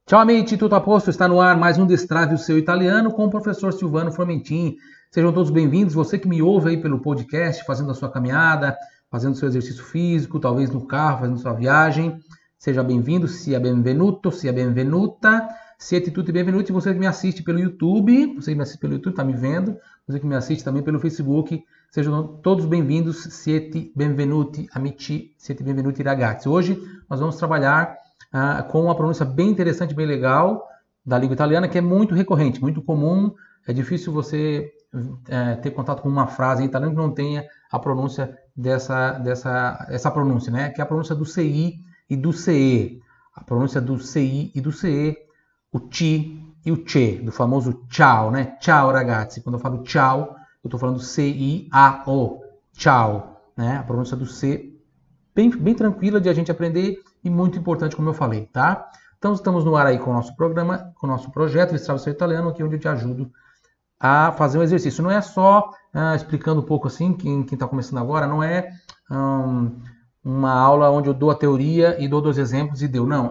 Ciao amici, tutto a posto? Está no ar mais um Destrave o Seu Italiano com o professor Silvano Formentin. Sejam todos bem-vindos. Você que me ouve aí pelo podcast, fazendo a sua caminhada, fazendo seu exercício físico, talvez no carro, fazendo sua viagem. Seja bem-vindo, sia benvenuto, sia benvenuta. Siete tutti benvenuti. Você que me assiste pelo YouTube, você que me assiste pelo YouTube, está me vendo. Você que me assiste também pelo Facebook, sejam todos bem-vindos. Siete benvenuti, amici, siete benvenuti ragazzi. Hoje nós vamos trabalhar com uma pronúncia bem interessante, bem legal da língua italiana, que é muito recorrente, muito comum. É difícil você ter contato com uma frase em italiano que não tenha a pronúncia essa pronúncia, né? Que é a pronúncia do CI e do CE. A pronúncia do CI e do CE, o ti e o che, do famoso ciao, né? Ciao ragazzi. Quando eu falo ciao, eu estou falando C-I-A-O, ciao, né? A pronúncia do C bem tranquila de a gente aprender e muito importante, como eu falei, tá? Então, estamos no ar aí com o nosso programa, com o nosso projeto Destrave o Seu Italiano, aqui onde eu te ajudo a fazer um exercício. Não é só, explicando um pouco assim, quem está começando agora, não é uma aula onde eu dou a teoria e dou 2 exemplos e deu. Não,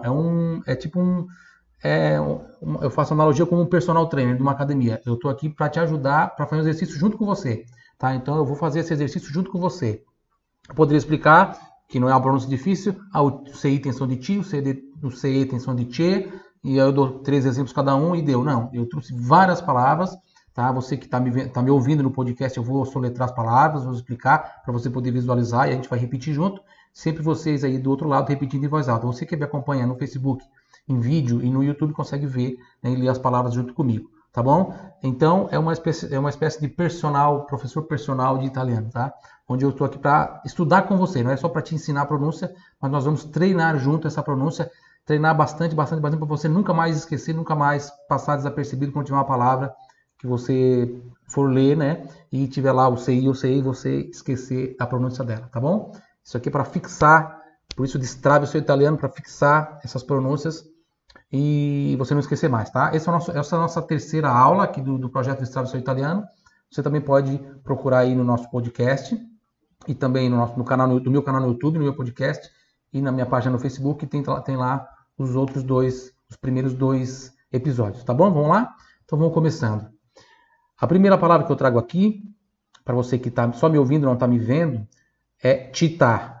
eu faço analogia com um personal trainer de uma academia. Eu estou aqui para te ajudar, para fazer um exercício junto com você, tá? Então, eu vou fazer esse exercício junto com você. Eu poderia explicar que não é uma pronúncia difícil, o CI tem som de ti, o CE tem som de che, e aí eu dou 3 exemplos cada um e deu. Não, eu trouxe várias palavras, tá? Você que está me ouvindo no podcast, eu vou soletrar as palavras, vou explicar para você poder visualizar e a gente vai repetir junto. Sempre vocês aí do outro lado repetindo em voz alta. Você que me acompanha no Facebook, em vídeo e no YouTube consegue ver, né, e ler as palavras junto comigo, tá bom? Então, é uma espécie de professor personal de italiano, tá? Onde eu estou aqui para estudar com você, não é só para te ensinar a pronúncia, mas nós vamos treinar junto essa pronúncia, treinar bastante para você nunca mais esquecer, nunca mais passar desapercebido quando tiver uma palavra que você for ler, né, e tiver lá o CI ou CI, você esquecer a pronúncia dela, tá bom? Isso aqui é para fixar, por isso destrave o seu italiano, para fixar essas pronúncias e você não esquecer mais, tá? Essa é a nossa terceira aula aqui do projeto Destrave o Seu Italiano. Você também pode procurar aí no nosso podcast e também no canal, no meu canal no YouTube, no meu podcast e na minha página no Facebook, tem lá os primeiros 2 episódios, tá bom? Vamos lá? Então vamos começando. A primeira palavra que eu trago aqui, para você que está só me ouvindo, não está me vendo, é città,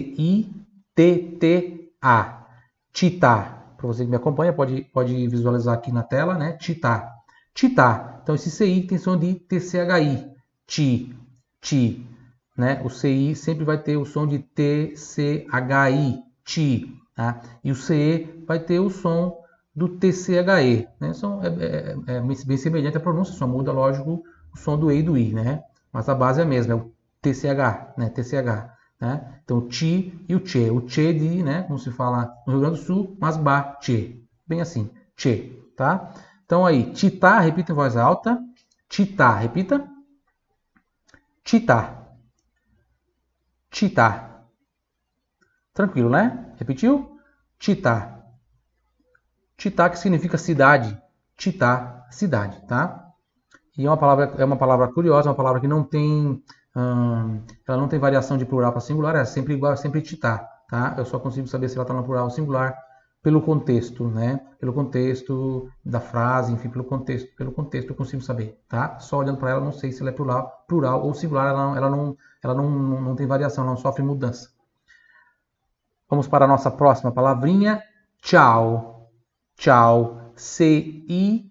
C-I-T-T-A, città. Para você que me acompanha, pode visualizar aqui na tela, né? Città. Città. Então esse CI tem som de TCHI, ti, né? O CI sempre vai ter o som de TCHI, ti, tá? E o CE vai ter o som do TCHE, né? É bem semelhante à pronúncia, só muda, lógico, o som do E e do I, né? Mas a base é a mesma, é o TCH, né? TCH, né? Então o ti e o che. O che de, né? Como se fala no Rio Grande do Sul, mas ba, che. Bem assim, che, tá? Então aí, città, repita em voz alta. Città, repita. Città. Città. Tranquilo, né? Repetiu? Città. Città, que significa cidade. Città, cidade, tá? E é uma palavra curiosa, uma palavra que não tem, ela não tem variação de plural para singular, é sempre igual, é sempre città, tá? Eu só consigo saber se ela está no plural ou singular pelo contexto, né? Pelo contexto da frase, enfim, pelo contexto eu consigo saber, tá? Só olhando para ela, não sei se ela é plural ou singular, ela não tem variação, não sofre mudança. Vamos para a nossa próxima palavrinha, ciao. Ciao, C-I-A-O.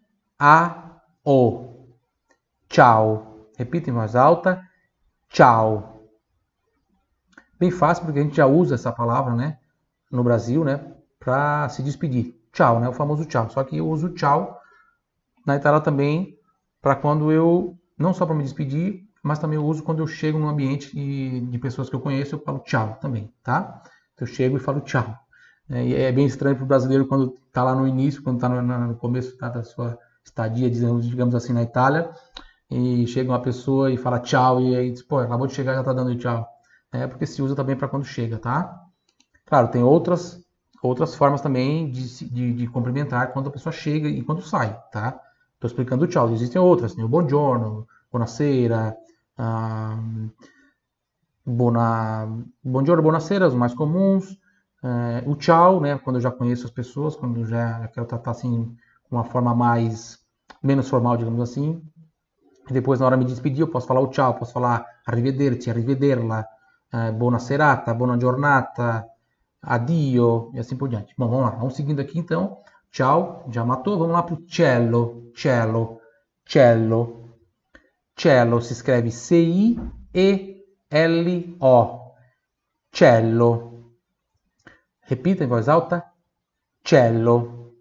Ciao. Repita em voz alta, ciao. Bem fácil, porque a gente já usa essa palavra, né? No Brasil, né? Para se despedir. Tchau, né? O famoso tchau. Só que eu uso tchau na Itália também para quando eu, não só para me despedir, mas também eu uso quando eu chego num ambiente de pessoas que eu conheço, eu falo tchau também, tá? Então, eu chego e falo tchau. E é bem estranho para o brasileiro quando está lá no início, quando está no começo da sua estadia, digamos assim, na Itália, e chega uma pessoa e fala tchau, e aí diz, pô, acabou de chegar e já está dando tchau. É porque se usa também para quando chega, tá? Claro, tem outras formas também de cumprimentar quando a pessoa chega e quando sai, tá? Estou explicando o tchau. Existem outras, tem o buongiorno, buonasera, buongiorno, buonasera, os mais comuns. O tchau, né, quando eu já conheço as pessoas, quando eu já quero tratar assim, com uma forma menos formal, digamos assim. E depois, na hora de me despedir, eu posso falar o tchau, posso falar arrivederci, arrivederla, buona serata, buona giornata, addio, e assim por diante. Bom, vamos lá, vamos seguindo aqui então. Tchau, já matou, vamos lá para o cello, cello, cello. Cello si scrive C-I-E-L-O, cello. Repita in voz alta, cello.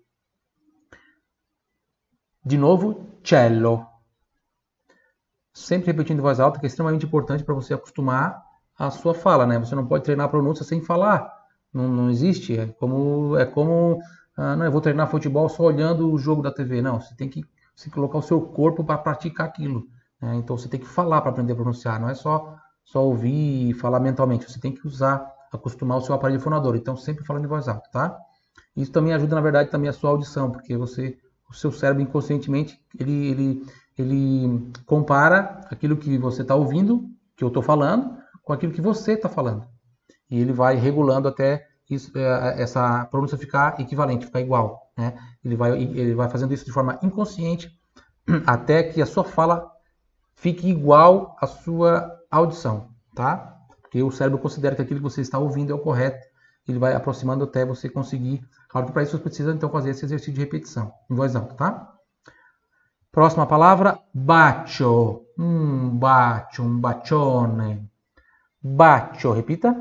De novo, cello. Sempre repetindo em voz alta, que é extremamente importante para você acostumar a sua fala, né? Você não pode treinar a pronúncia sem falar. Não existe. Não, eu vou treinar futebol só olhando o jogo da TV. Não, você tem que colocar o seu corpo para praticar aquilo. Né? Então você tem que falar para aprender a pronunciar. Não é só ouvir e falar mentalmente. Você tem que acostumar o seu aparelho fonador. Então sempre falando em voz alta, tá? Isso também ajuda, na verdade, também a sua audição, porque o seu cérebro inconscientemente, ele compara aquilo que você está ouvindo, que eu estou falando, com aquilo que você está falando. E ele vai regulando até essa pronúncia ficar equivalente, ficar igual. Né? Ele vai fazendo isso de forma inconsciente até que a sua fala fique igual à sua audição. Tá? Porque o cérebro considera que aquilo que você está ouvindo é o correto. Ele vai aproximando até você conseguir. Claro que para isso você precisa então fazer esse exercício de repetição em voz alta, tá? Próxima palavra, bacio. Bacio, un bacione. Bacio, repita.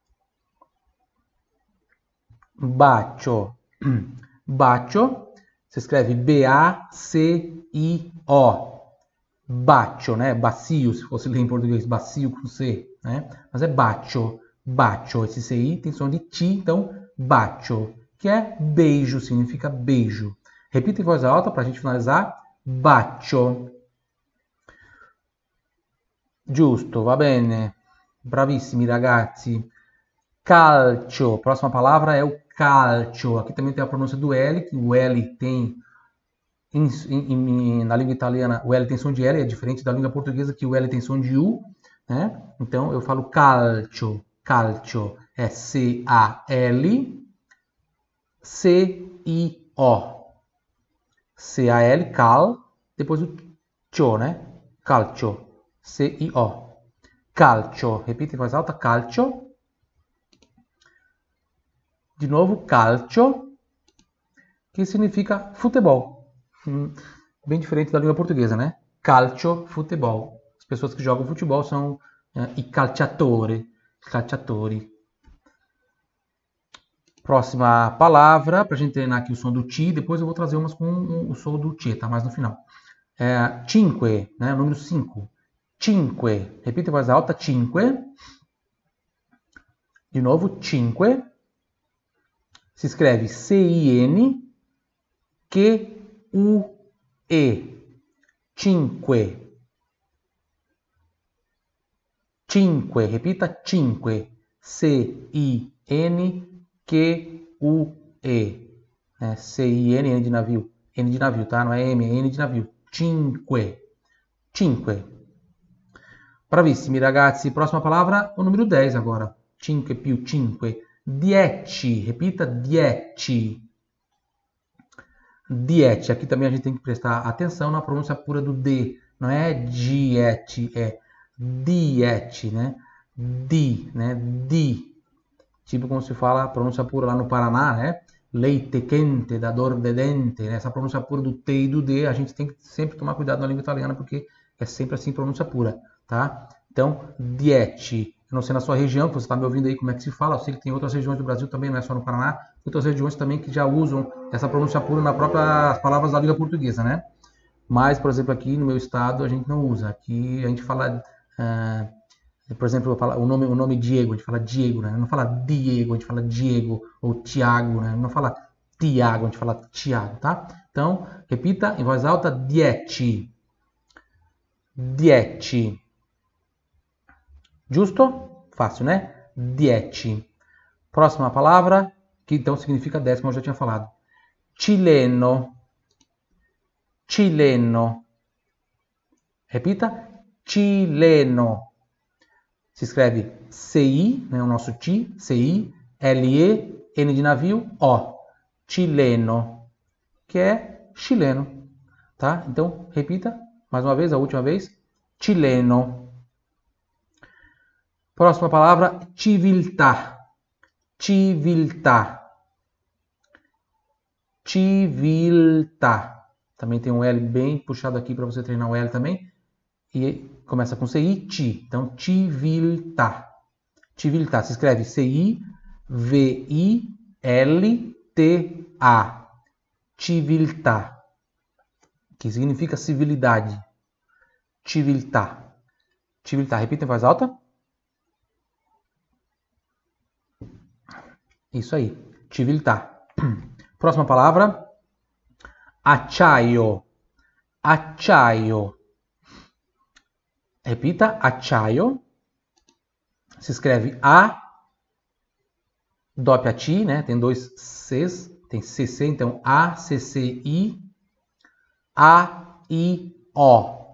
Bacio. Bacio, si scrive B-A-C-I-O. Bacio, né? Bacio, se fosse ler em português, bacio com C, né? Mas é bacio, bacio. Esse CI tem som de T, então bacio, que é beijo, significa beijo. Repita em voz alta para a gente finalizar. Bacio. Giusto, va bene. Bravissimi ragazzi. Calcio. Próxima palavra é o calcio. Aqui também tem a pronúncia do L, que o L tem na língua italiana, o L tem som de L, é diferente da língua portuguesa que o L tem som de U, né? Então eu falo calcio, calcio é C-A-L-C-I-O. C-A-L, cal, depois o cio, né? Calcio, C-I-O. Calcio, repita em voz alta, calcio. De novo, calcio, que significa futebol. Bem diferente da língua portuguesa, né? Calcio, futebol. As pessoas que jogam futebol são i calciatori. Próxima palavra, para a gente treinar aqui o som do T, depois eu vou trazer umas com o som do T, tá? Mais no final. Cinque, né? O número 5. Cinque. Repita em voz alta, cinque. De novo, cinque. Se escreve C-I-N-Q-U-E. Cinque. Cinque. Repita, cinque. C-I-N-Q-U-E. C-I-N, N de navio. N de navio, tá? Não é M, é N de navio. Cinque. Cinque. Bravissimi, ragazzi. Próxima palavra, o número 10 agora. Cinque più cinque. 10. Repita, 10. 10. Aqui também a gente tem que prestar atenção na pronúncia pura do D. Não é diete, é diete, né? Di, né? Di. Tipo como se fala a pronúncia pura lá no Paraná, né? Leite quente, da dor de dente. Né? Essa pronúncia pura do T e do D, a gente tem que sempre tomar cuidado na língua italiana, porque é sempre assim pronúncia pura, tá? Então, diete. Eu não sei na sua região, que você está me ouvindo aí, como é que se fala. Eu sei que tem outras regiões do Brasil também, não é só no Paraná. Outras regiões também que já usam essa pronúncia pura nas próprias palavras da língua portuguesa, né? Mas, por exemplo, aqui no meu estado a gente não usa. Aqui a gente fala, por exemplo, o nome Diego, a gente fala Diego, né? Não fala Diego, a gente fala Diego, ou Tiago, né? Não fala Tiago, a gente fala Tiago, tá? Então, repita em voz alta, dieci. Dieci. Giusto? Fácil, né? Dieci. Próxima palavra, que então significa 10, como eu já tinha falado. Cileno. Cileno. Repita. Cileno. Se escreve C-I, né, o nosso T, C-I, L-E, N de navio, O. Chileno, que é chileno, tá? Então, repita mais uma vez, a última vez. Chileno. Próxima palavra, civiltà. Civiltà. Civiltà. Também tem um L bem puxado aqui para você treinar o L também. E começa com CI, ci. Então, civiltà. Civiltà se escreve C-I-V-I-L-T-A. Civiltà. Que significa civilidade. Civiltà. Civiltà. Repita em voz alta. Isso aí. Civiltà. Próxima palavra. Acciaio. Acciaio. Repita. Acciaio. Se escreve A, doppia T, né? Tem dois Cs, tem CC, então A, CC, I, A, I, O.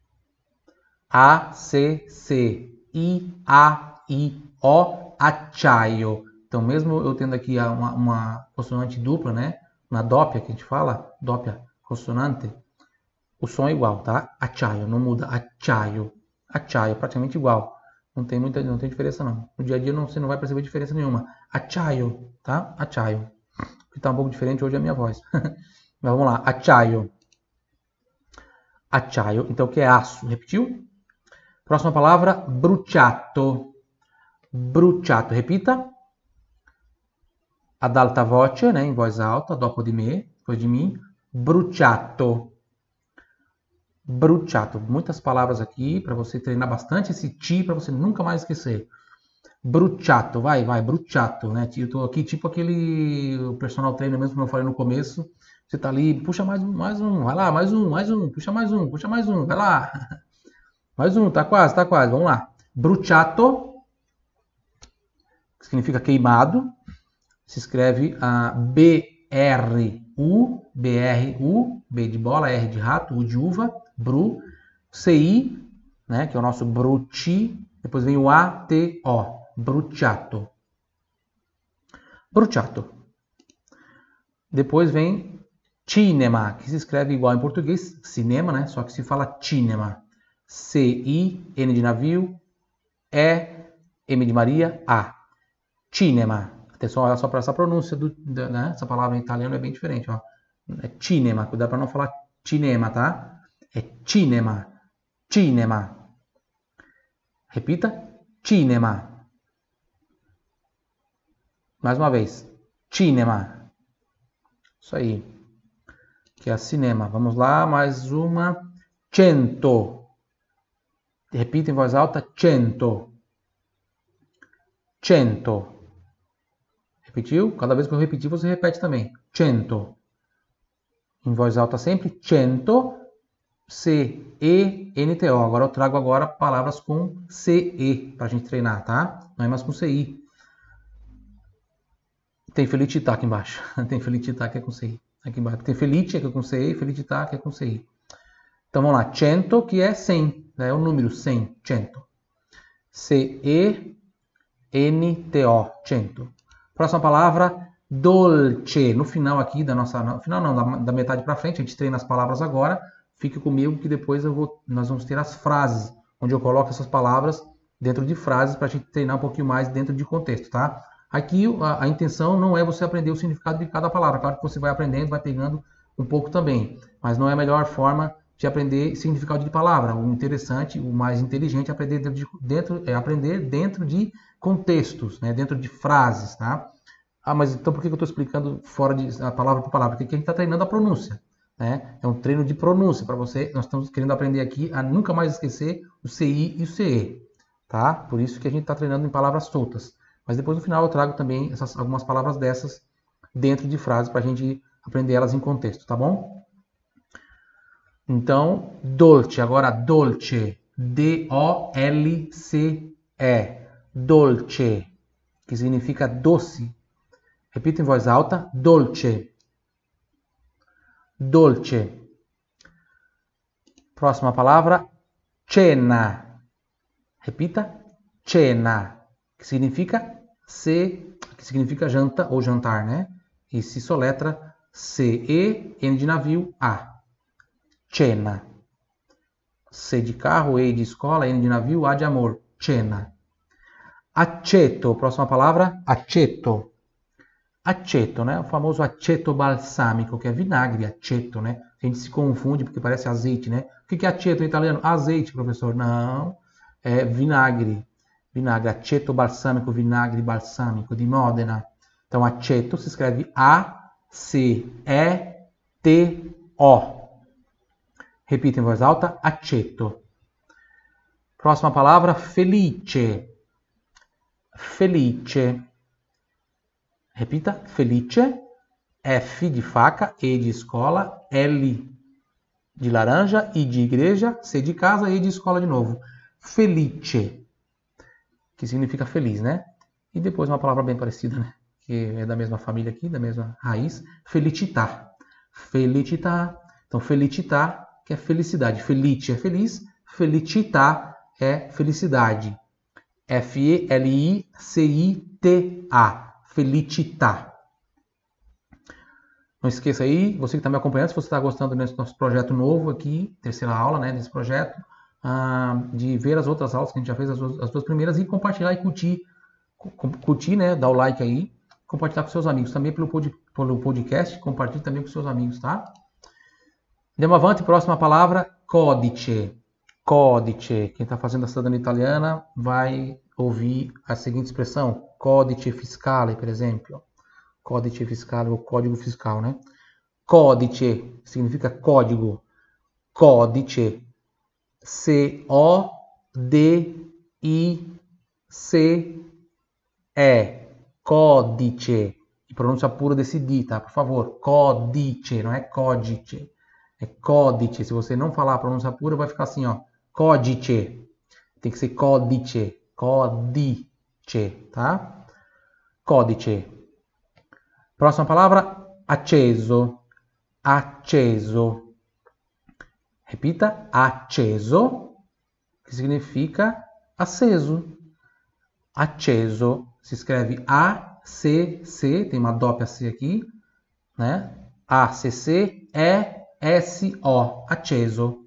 A, C, C, I, A, I, O, acciaio. Então, mesmo eu tendo aqui uma consonante dupla, né? Na doppia que a gente fala, doppia consonante, o som é igual, tá? Acciaio, não muda. Acciaio. Acciaio, praticamente igual. Não tem diferença não. No dia a dia você não vai perceber diferença nenhuma. Acciaio, tá? Acciaio. Que tá um pouco diferente hoje é a minha voz. Mas vamos lá. Acciaio. Acciaio. Então o que é aço? Repetiu? Próxima palavra, bruciato. Bruciato. Repita. Ad alta voce, né? Em voz alta, dopo di me, depois de mim. Bruciato. Bruciato. Muitas palavras aqui para você treinar bastante esse ti para você nunca mais esquecer. Bruciato, vai, bruciato, né? Eu tô aqui tipo aquele personal trainer mesmo que eu falei no começo. Você tá ali, puxa mais um, vai lá, mais um, puxa mais um, vai lá. Mais um, tá quase, vamos lá. Bruciato, que significa queimado. Se escreve B-R-U, B-R-U, B de bola, R de rato, U de uva, Bru, C-I, né, que é o nosso bruci, depois vem o A-T-O, bruciato. Bruciato. Depois vem cinema, que se escreve igual em português, cinema, né, só que se fala cinema. C-I, N de navio, E-M de Maria, A. Cinema. Atenção só para essa pronúncia, né? Essa palavra em italiano é bem diferente. Ó. É cinema, cuidado para não falar cinema, tá? É cinema, cinema. Repita, cinema. Mais uma vez, cinema. Isso aí. Que é cinema. Vamos lá, mais uma. Cento. Repita em voz alta, cento. Cento. Repetiu? Cada vez que eu repetir, você repete também. Cento. Em voz alta sempre. Cento. C-E-N-T-O. Agora eu trago palavras com C-E para a gente treinar, tá? Não é mais com C-I. Tem felicità aqui embaixo. Tem felicità que é com C-I. Aqui embaixo. Tem felite que é com C-E e felicità que é com C-I. Então vamos lá. Cento, que é 100. Né? É o número 100. Cento. C-E-N-T-O. Cento. Próxima palavra, dolce. No final aqui da nossa... No final não, da metade para frente, a gente treina as palavras agora. Fique comigo que depois nós vamos ter as frases, onde eu coloco essas palavras dentro de frases para a gente treinar um pouquinho mais dentro de contexto, tá? Aqui a intenção não é você aprender o significado de cada palavra. Claro que você vai aprendendo, vai pegando um pouco também. Mas não é a melhor forma de aprender significado de palavra. O interessante, o mais inteligente é aprender dentro de contextos, né? Dentro de frases, tá? Ah, mas então por que eu estou explicando fora de a palavra por palavra? Porque aqui a gente está treinando a pronúncia, né? É um treino de pronúncia para você. Nós estamos querendo aprender aqui a nunca mais esquecer o CI e o CE, tá? Por isso que a gente está treinando em palavras soltas. Mas depois no final eu trago também algumas palavras dessas dentro de frases para a gente aprender elas em contexto, tá bom? Então, dolce, agora dolce, D-O-L-C-E, dolce, que significa doce. Repita em voz alta, dolce, dolce. Próxima palavra, cena. Repita, cena, que significa que significa janta ou jantar, né? E se soletra C-E, N de navio, A. Cena. C de carro, E de escola, N de navio, A de amor. Cena. Aceto, próxima palavra, aceto. Aceto, né? O famoso aceto balsamico, que é vinagre, aceto, né? A gente se confunde porque parece azeite, né? O que é aceto em italiano? Azeite, professor. Não, é vinagre. Vinagre, aceto balsamico, vinagre balsamico, de Modena. Então, aceto se escreve A-C-E-T-O. Repita em voz alta, aceto. Próxima palavra, felice. Felice. Repita, felice. F de faca, E de escola, L de laranja, I de igreja, C de casa, E de escola de novo. Felice, que significa feliz, né? E depois uma palavra bem parecida, né? Que é da mesma família aqui, da mesma raiz. Felicità. Felicità. Então, felicità, que é felicidade. Felice é feliz, felicità é felicidade. F-E-L-I-C-I-T-A. Felicità. Não esqueça aí, você que está me acompanhando, se você está gostando desse nosso projeto novo aqui, terceira aula, né, desse projeto, de ver as outras aulas que a gente já fez, as duas primeiras, e compartilhar e curtir, né, dar o like aí, compartilhar com seus amigos. Também pelo podcast, compartilhe também com seus amigos, tá? Andiamo avanti, próxima palavra, codice. Codice. Quem está fazendo a cidadania italiana vai ouvir a seguinte expressão, codice fiscale, por exemplo. Codice fiscale, ou código fiscal, né? Codice significa código. Codice. C-O-D-I-C-E. Codice. E pronúncia pura desse D, tá? Por favor. Codice, não é codice. É codice. Se você não falar a pronúncia pura, vai ficar assim, ó. Codice. Tem que ser codice. Codice, tá? Codice. Próxima palavra, acceso. Acceso. Repita, acceso, que significa aceso. Acceso se escreve A-C-C, tem uma dópia C aqui, né? A-C-C-E-S-O. Acceso.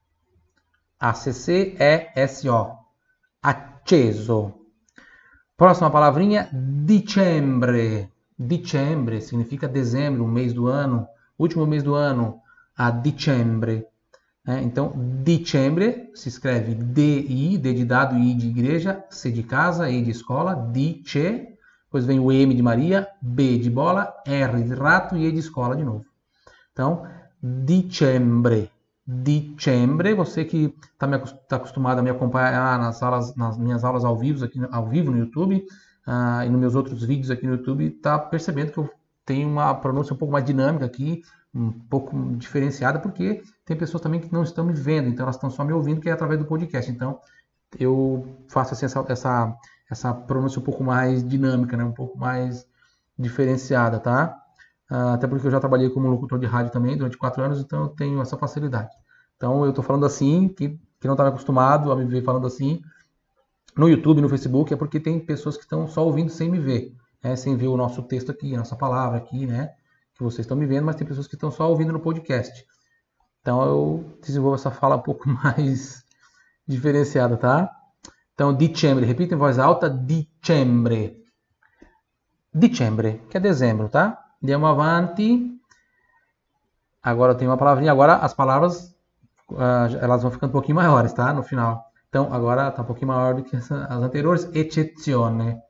A-C-C-E-S-O. Acceso. Próxima palavrinha, dicembre. Dicembre significa dezembro, o mês do ano, último mês do ano, a dicembre. Então, dicembre se escreve D-I, D de dado, I de igreja, C de casa, E de escola, dice, depois vem o M de Maria, B de bola, R de rato e E de escola de novo. Então, dicembre. Dicembre, você que está acostumado a me acompanhar nas minhas aulas ao vivo no YouTube, e nos meus outros vídeos aqui no YouTube, está percebendo que eu tenho uma pronúncia um pouco mais dinâmica aqui, um pouco diferenciada, porque tem pessoas também que não estão me vendo, então elas estão só me ouvindo, que é através do podcast. Então, eu faço assim, essa pronúncia um pouco mais dinâmica, né? Um pouco mais diferenciada, tá? Até porque eu já trabalhei como locutor de rádio também durante 4 anos, então eu tenho essa facilidade. Então, eu estou falando assim, que não estava acostumado a me ver falando assim, no YouTube, no Facebook, é porque tem pessoas que estão só ouvindo sem me ver, né? Sem ver o nosso texto aqui, a nossa palavra aqui, né? Que vocês estão me vendo, mas tem pessoas que estão só ouvindo no podcast. Então eu desenvolvo essa fala um pouco mais diferenciada, tá? Então, dicembre, repita em voz alta, dicembre. Dicembre, que é dezembro, tá? Andiamo avanti. Agora eu tenho uma palavrinha, agora as palavras, elas vão ficando um pouquinho maiores, tá? No final. Então, agora está um pouquinho maior do que as anteriores. Eccezione.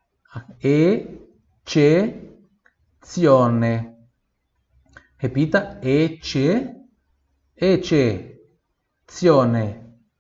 Eccezione. Repita. Eccezione.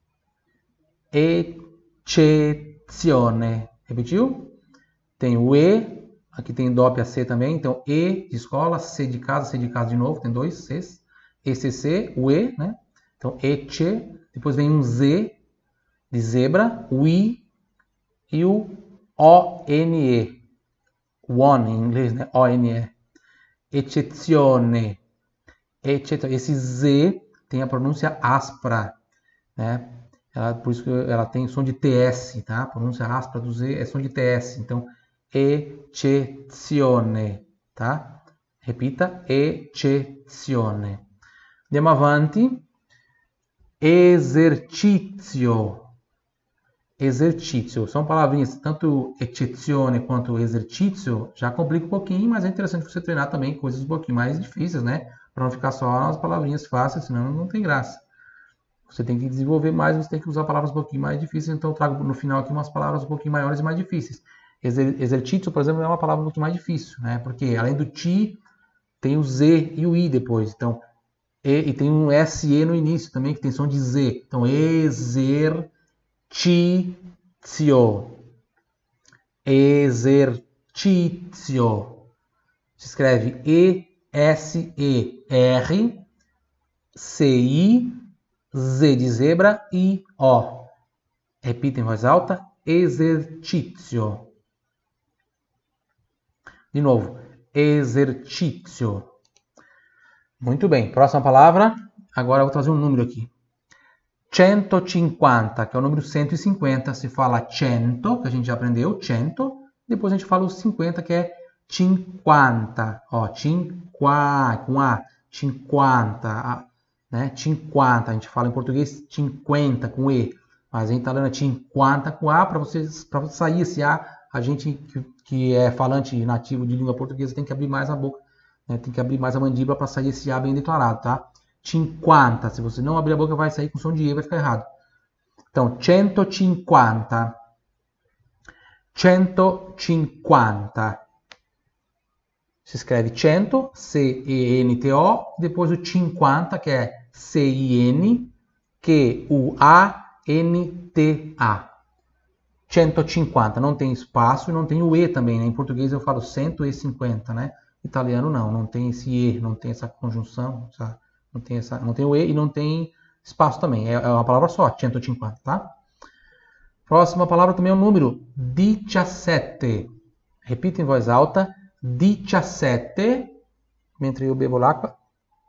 Eccezione. Repetiu? Tem o E. Aqui tem dópia C também. Então, E de escola, C de casa de novo. Tem 2 Cs. ECC, o E, né? Então, ecce. Depois vem um Z de zebra, o I e o O-N-E. One em inglês, né? O-N-E. Eccezione. Esse Z tem a pronúncia áspera, né? Por isso que ela tem som de TS, tá? A pronúncia áspera do Z é som de TS. Então, eccezione. eccezione, tá? Repita, eccezione. Andiamo avanti. Esercizio. Exercício. São palavrinhas, tanto eccezione quanto exercício, já complica um pouquinho, mas é interessante você treinar também coisas um pouquinho mais difíceis, né? Para não ficar só nas palavrinhas fáceis, senão não tem graça. Você tem que desenvolver mais, você tem que usar palavras um pouquinho mais difíceis, então eu trago no final aqui umas palavras um pouquinho maiores e mais difíceis. Exercício, por exemplo, é uma palavra um pouquinho mais difícil, né? Porque além do ti, tem o z e o i depois. Então, e tem um se no início também, que tem som de z. Então, exercício. Exercício. Se escreve E-S-E-R-C-I-Z de zebra e O. Repita em voz alta. Exercício. De novo. Exercício. Muito bem. Próxima palavra. Agora eu vou trazer um número aqui. 150, que é o número 150. Se fala 100, que a gente já aprendeu. 100. Depois a gente fala o 50, que é 50. Ó, 50, com A. 50. Né? 50. A gente fala em português 50, com E. Mas em italiano é 50 com A. Para sair esse A, a gente que é falante nativo de língua portuguesa tem que abrir mais a boca. Né? Tem que abrir mais a mandíbula para sair esse A bem declarado, tá? 50. Se você não abrir a boca, vai sair com som de E, vai ficar errado. Então, 150. 150. Se escreve 100, C-E-N-T-O, depois o 50, que é C-I-N, Q-U-A-N-T-A. 150. Não tem espaço e não tem o E também, né? Em português eu falo 150, né? Italiano não tem esse E, não tem essa conjunção, sabe? Não tem o E e não tem espaço também. É uma palavra só, 150, tá? Próxima palavra também é o número 17. Repita em voz alta. 17. Mentre eu bebo l'acqua.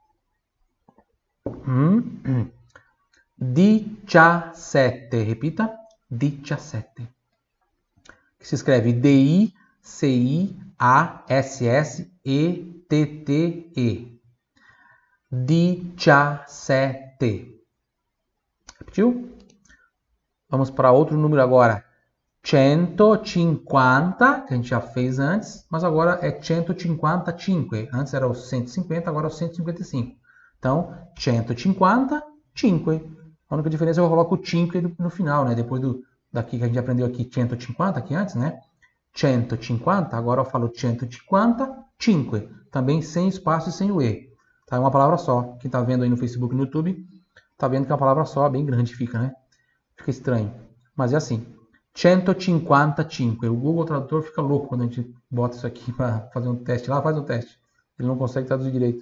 17. Repita. 17. Que se escreve D-I-C-I-A-S-S-E-T-T-E. 17. Repetiu? Vamos para outro número agora. 150, que a gente já fez antes, mas agora é 155. Antes era o 150, agora é o 155. Então, 155. A única diferença é que eu coloco o 5 no final, né? Depois daqui que a gente aprendeu aqui 150, aqui antes, né? 150, agora eu falo 155. Também sem espaço e sem o E. Tá? É uma palavra só. Quem está vendo aí no Facebook e no YouTube, está vendo que é uma palavra só, bem grande fica, né? Fica estranho. Mas é assim. 155. O Google Tradutor fica louco quando a gente bota isso aqui para fazer um teste lá. Faz um teste. Ele não consegue traduzir direito.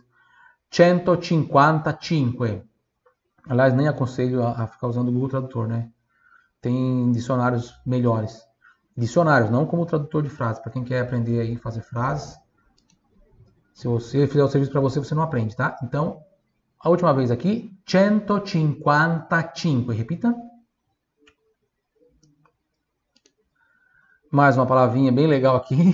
155. Aliás, nem aconselho a ficar usando o Google Tradutor, né? Tem dicionários melhores. Dicionários, não como tradutor de frases. Para quem quer aprender aí fazer frases. Se você fizer o serviço para você, você não aprende, tá? Então, a última vez aqui, 155. Repita. Mais uma palavrinha bem legal aqui.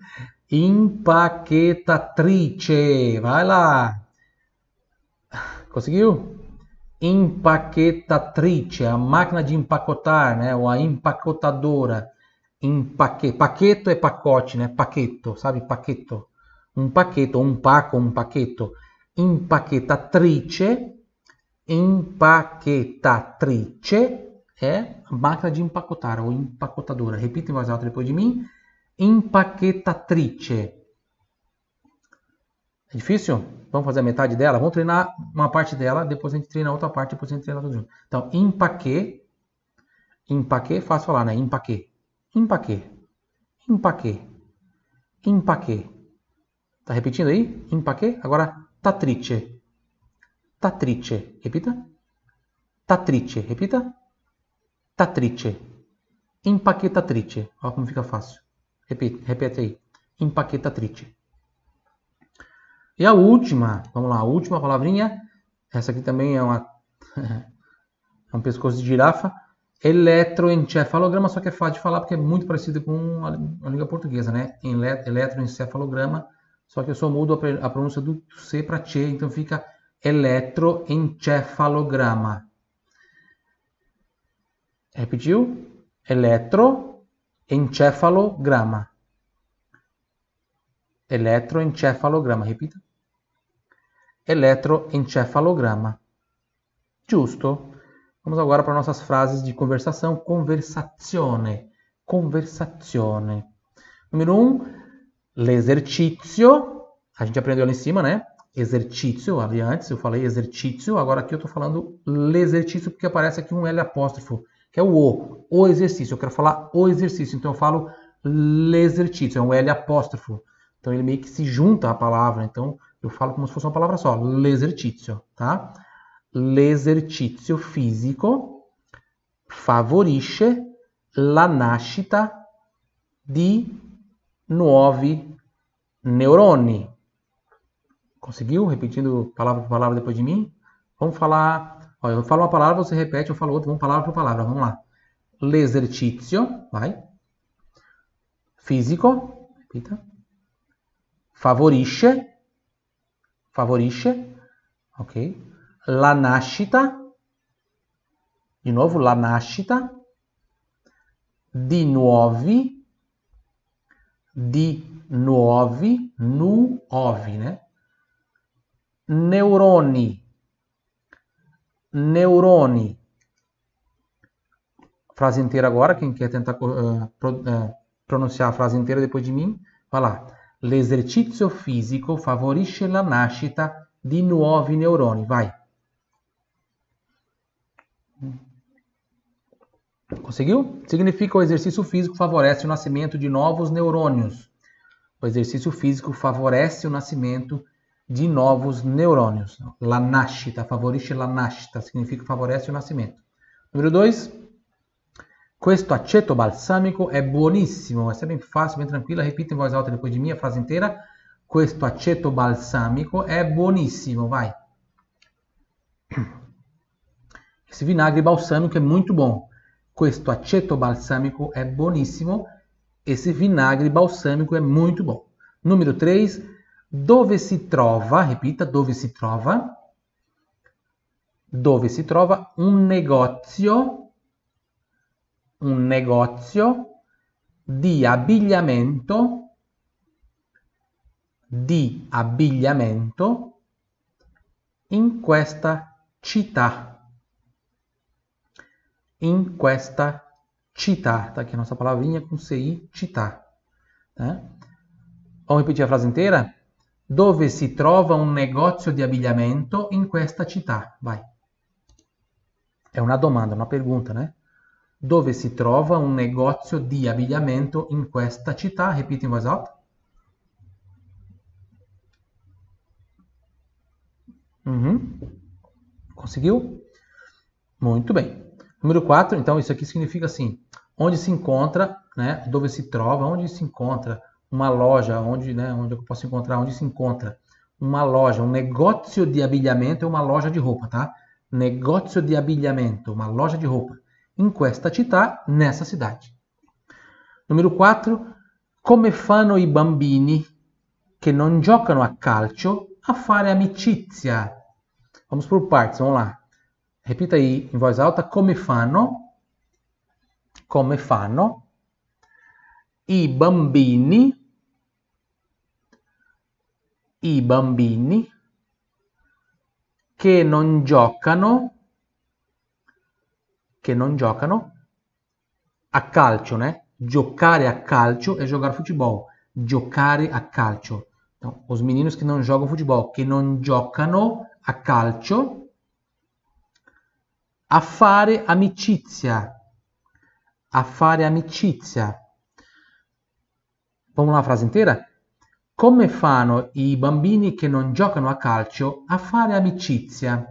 Empaquetatrice. Vai lá. Conseguiu? Empaquetatrice. A máquina de empacotar, né? Ou a empacotadora. Paqueto é pacote, né? Paqueto, sabe? Paqueto. Um paquete, um paco, um paquete. Empaquetatrice. Empaquetatrice é a máquina de empacotar, ou empacotadora. Repita em voz alta depois de mim. Empaquetatrice. É difícil? Vamos fazer a metade dela? Vamos treinar uma parte dela, depois a gente treina a outra parte, depois a gente treina tudo junto. Então, empaquê. Empaquê, fácil falar, né? Empaquê. Empaquê. Empaquê. Empaquê. Tá repetindo aí? Empaquê. Agora, tatrice. Tatrice. Repita. Tatrice. Repita. Tatrice. Empaquetatrice. Olha como fica fácil. Repete aí. Empaquetatrice. E a última. Vamos lá. A última palavrinha. Essa aqui também é um pescoço de girafa. Eletroencefalograma, só que é fácil de falar porque é muito parecido com a língua portuguesa, né? Eletroencefalograma, só que eu só mudo a pronúncia do C para Tchê, então fica eletroencefalograma. Repetiu? Eletroencefalograma. Eletroencefalograma, repita. Eletroencefalograma. Giusto? Vamos agora para nossas frases de conversação. Conversazione. Conversazione. Número 1, l'esercizio. A gente aprendeu ali em cima, né? Exercício, ali antes eu falei exercício, agora aqui eu estou falando l'exercício porque aparece aqui um L apóstrofo, que é o exercício. Eu quero falar o exercício, então eu falo l'exercício, é um L apóstrofo. Então ele meio que se junta à palavra, então eu falo como se fosse uma palavra só, l'esercizio, tá? L'esercizio fisico favorisce la nascita di nuovi neuroni. Conseguiu? Repetindo palavra por palavra depois de mim? Vamos falar... Ó, eu falo uma palavra, você repete, eu falo outra, vamos palavra por palavra. Vamos lá. L'esercizio, vai. Fisico, repita. Favorisce, ok. La nascita, di nuovo, la nascita di nuovi, nuovi, né? Neuroni. Frase inteira agora, quem quer tentar pronunciar a frase inteira depois de mim, vai lá. L'esercizio fisico favorisce la nascita di nuovi neuroni. Vai. Conseguiu? Significa o exercício físico favorece o nascimento de novos neurônios. O exercício físico favorece o nascimento de novos neurônios. La nascita, favorisce la nascita, significa favorece o nascimento. Número 2. Questo aceto balsamico è buonissimo. Essa é bem fácil, bem tranquila. Repita em voz alta depois de mim a frase inteira. Questo aceto balsamico è buonissimo. Vai. Esse vinagre balsâmico é muito bom. Questo aceto balsamico è buonissimo. Esse vinagre balsâmico é muito bom. Número 3. Dove si trova, repita, dove si trova un negozio di abbigliamento in questa città. In questa città. Tá aqui a nossa palavrinha com CI, città. Tá? Vamos repetir a frase inteira? Dove si trova un negozio di abbigliamento in questa città? Vai. È una domanda, una pergunta, né? Dove si trova un negozio di abbigliamento in questa città? Repita in voz alta. Conseguiu? Muito bem. Número 4, então isso aqui significa assim, onde se encontra, né? Dove si trova, onde se encontra uma loja, onde eu posso encontrar, onde se encontra uma loja, um negócio de abbigliamento é uma loja de roupa, tá? Negócio de abbigliamento, uma loja de roupa. In questa città, nessa cidade. Número 4, come fanno i bambini che non giocano a calcio a fare amicizia? Vamos por partes, vamos lá. Repita aí em voz alta, come fanno i bambini che non giocano a calcio, né? Giocare a calcio é jogar futebol. Giocare a calcio. Então, os meninos que não jogam futebol, que non giocano a calcio, a fare amicizia. A fare amicizia. Vamos lá a frase inteira? Come fanno i bambini che non giocano a calcio a fare amicizia?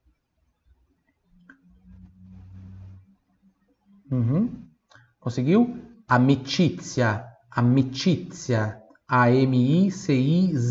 Conseguiu? Amicizia. Amicizia.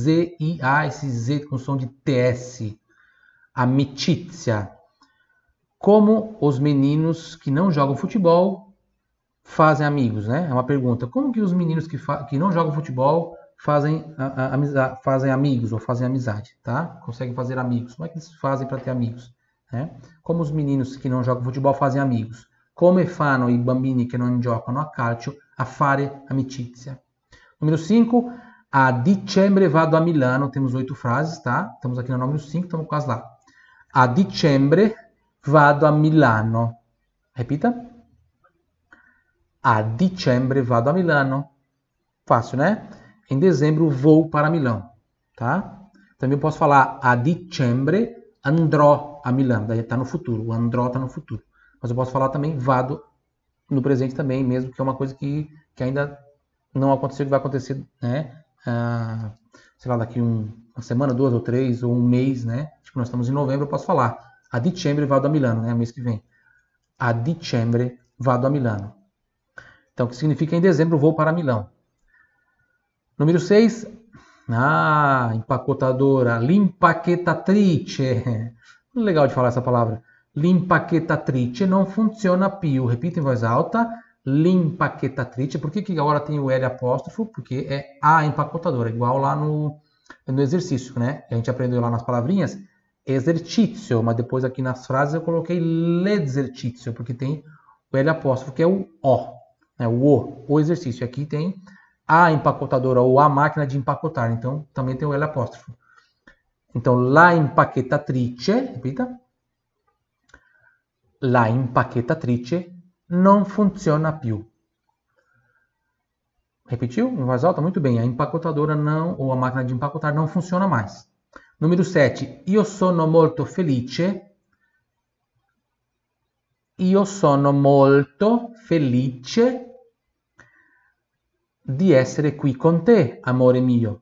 A-M-I-C-I-Z-I-A, esse Z com som de TS. Amicizia. Como os meninos que não jogam futebol fazem amigos, né? É uma pergunta. Como que os meninos que não jogam futebol fazem amigos ou fazem amizade, tá? Conseguem fazer amigos. Como é que eles fazem para ter amigos? Né? Como os meninos que não jogam futebol fazem amigos. Come fanno i bambini che non giocano a calcio a fare amicizia. Número 5, a dicembre vado a Milano. Temos 8 frases, tá? Estamos aqui no número 5, estamos quase lá. A dicembre vado a Milano. Repita. A dicembre vado a Milano. Fácil, né? Em dezembro vou para Milão, tá? Também posso falar a dicembre andrò a Milano. Daí está no futuro. O andrò está no futuro. Mas eu posso falar também vado no presente também, mesmo que é uma coisa que ainda não aconteceu, que vai acontecer, né? Sei lá, daqui uma semana, 2 ou 3, ou um mês, né? Tipo, nós estamos em novembro, eu posso falar a dicembre vado a Milano, né? Mês que vem. A dicembre vado a Milano. Então, o que significa em dezembro vou para Milão. Número 6, empacotadora, l'impacchettatrice. Legal de falar essa palavra. L'impacchettatrice non funziona più. Repita em voz alta. L'impacchettatrice. Por que agora tem o L apóstrofo? Porque é a empacotadora, igual lá no exercício, né? A gente aprendeu lá nas palavrinhas exercício, mas depois aqui nas frases eu coloquei l'esercizio, porque tem o L apóstrofo, que é o O, né? O exercício. Aqui tem a empacotadora ou a máquina de empacotar, então também tem o L apóstrofo. Então, la impacchettatrice, repita, la impacchettatrice non funziona più. Repetiu? Em voz alta? Muito bem. A empacotadora não, ou a máquina de empacotar não funciona mais. Número 7. Io sono molto felice. Io sono molto felice di essere qui con te, amore mio.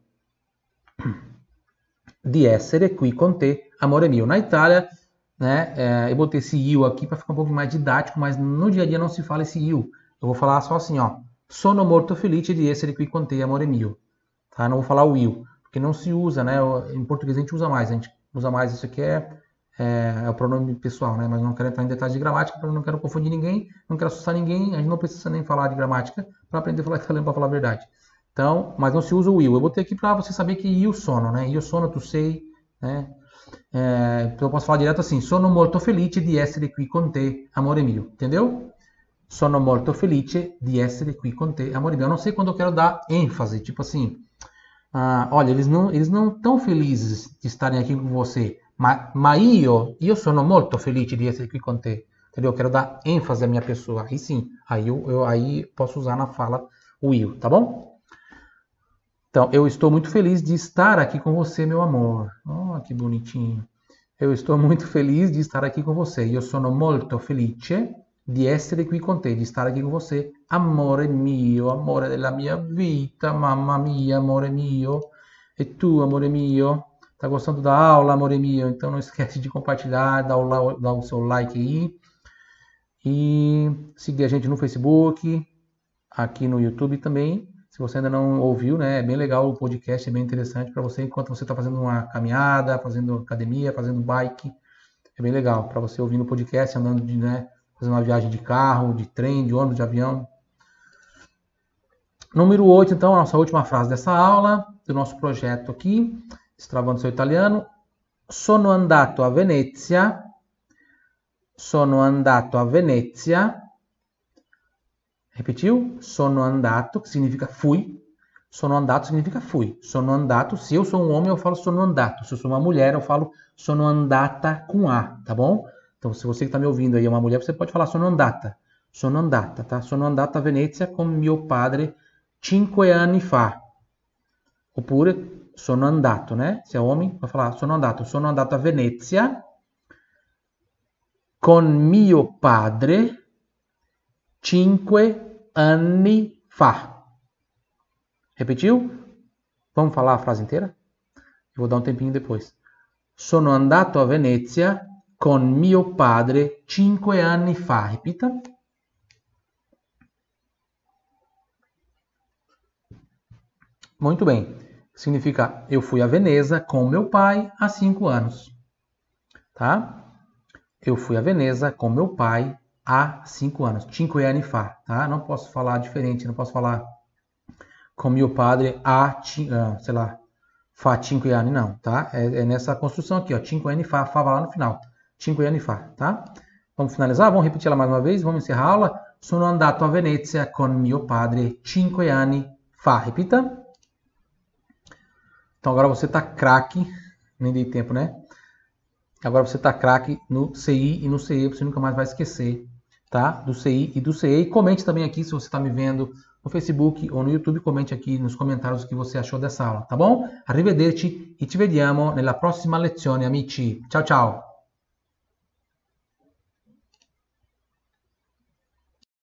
Di essere qui con te, amore mio. Na Itália, né, eu botei esse io aqui para ficar um pouco mais didático, mas no dia a dia não se fala esse io. Eu vou falar só assim, ó. Sono molto felice di essere qui con te, amore mio. Tá? Não vou falar o io, porque não se usa, né? Em português a gente usa mais. A gente usa mais isso aqui é o pronome pessoal, né? Mas não quero entrar em detalhes de gramática, porque eu não quero confundir ninguém, não quero assustar ninguém. A gente não precisa nem falar de gramática para aprender a falar italiano, para falar a verdade. Então, mas não se usa o io. Eu botei aqui para você saber que io sono, né? Io sono, tu sei, né? Então eu posso falar direto assim: sono molto felice di essere qui con te, amore mio. Entendeu? Sono molto felice di essere qui con te, amore mio. Eu não sei quando eu quero dar ênfase, tipo assim, olha, eles não estão felizes de estarem aqui com você, ma io sono molto felice di essere qui con te. Entendeu? Eu quero dar ênfase à minha pessoa. Aí sim, aí posso usar na fala o io, tá bom? Então, eu estou muito feliz de estar aqui com você, meu amor. Oh, que bonitinho. Eu estou muito feliz de estar aqui com você. Io sono molto felice di essere qui con te, di estar aqui com você. Amore mio, amore della mia vita, mamma mia, amore mio. E tu, amore mio? Tá gostando da aula, amore mio? Então não esquece de compartilhar, dar o seu like aí. E seguir a gente no Facebook, aqui no YouTube também. Se você ainda não ouviu, né, é bem legal o podcast, é bem interessante para você enquanto você está fazendo uma caminhada, fazendo academia, fazendo bike. É bem legal para você ouvir no podcast, andando fazendo uma viagem de carro, de trem, de ônibus, de avião. Número 8, então, a nossa última frase dessa aula, do nosso projeto aqui, Destravando Seu Italiano. Sono andato a Venezia. Sono andato a Venezia. Repetiu? Sono andato, que significa fui. Sono andato significa fui. Sono andato, se eu sou um homem, eu falo sono andato. Se eu sou uma mulher, eu falo sono andata com A, tá bom? Então, se você que está me ouvindo aí é uma mulher, você pode falar sono andata. Sono andata, tá? Sono andata a Venezia con mio padre 5 anni fa. Oppure sono andato, né? Se é homem, vai falar sono andato a Venezia con mio padre 5 anni fa. Repetiu? Vamos falar a frase inteira? Eu vou dar um tempinho depois. Sono andato a Venezia con mio padre 5 anni fa. Repita. Muito bem. Significa eu fui a Veneza com meu pai há 5 anos. Tá? Eu fui a Veneza com meu pai há 5 anos. 5 anni fa, tá? Não posso falar diferente, não posso falar com mio padre há, sei lá, fa 5 anni, não, tá? É nessa construção aqui, ó. 5 anni fa, fa vai lá no final. 5 anni fa, tá? Vamos finalizar? Vamos repetir ela mais uma vez? Vamos encerrar a aula? Sono andato a Venezia con mio padre 5 anni fa. Repita. Então agora você tá craque. Nem dei tempo, né? Agora você tá craque no CI e no CE, você nunca mais vai esquecer, tá? Do CI e do CE. E comente também aqui se você está me vendo no Facebook ou no YouTube, comente aqui nos comentários o que você achou dessa aula, tá bom? Arrivederci e ci vediamo nella prossima lezione, amici. Ciao, ciao!